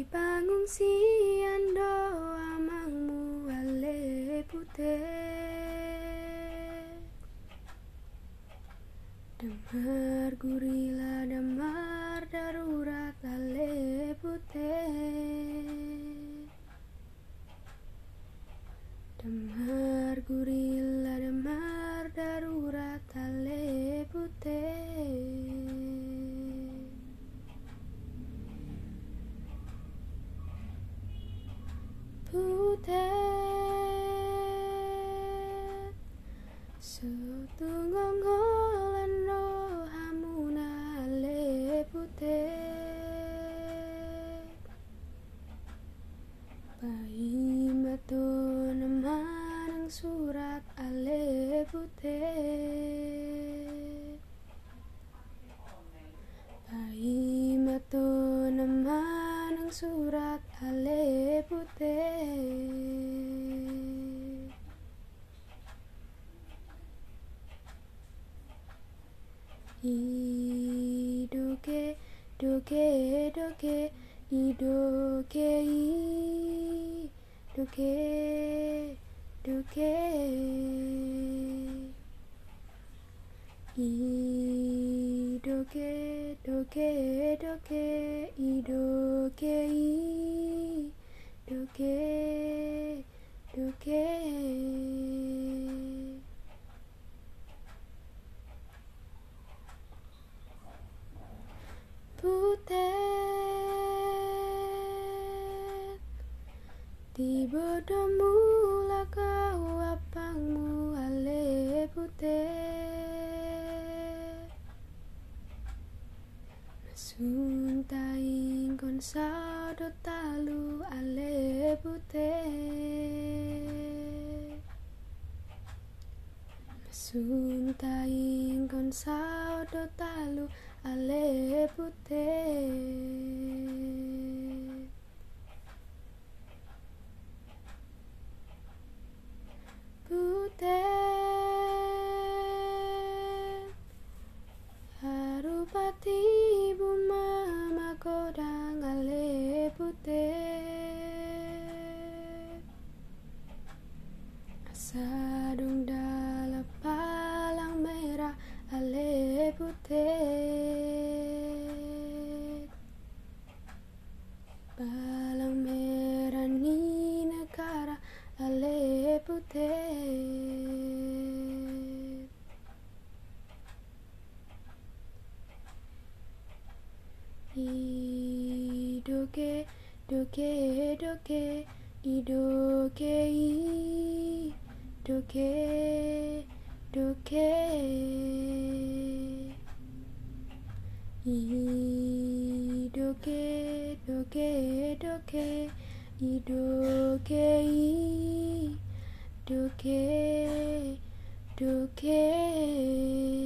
pangungsian doa mangmu ale putih damar gurila damar darurat ale putih damar gurila damar darurat ale putih putih setunggang holan rohamuna ale putih bayi mato namanang surat ale putih bayi mato namanang surat ale putih idoke doke doke idoke doke doke idoke doke doke idoke doke doke putih tibodo mula kau apangmu ale putih nasuntaing kon saudo talu ale putih nasuntaing kon saudo talu ale putih putih harupati buma makodang ale putih asadong dalam palang merah ale putih palang merah ni negara ale putih idoke doke doke idoke doke doke idoke doke doke idoke doke doke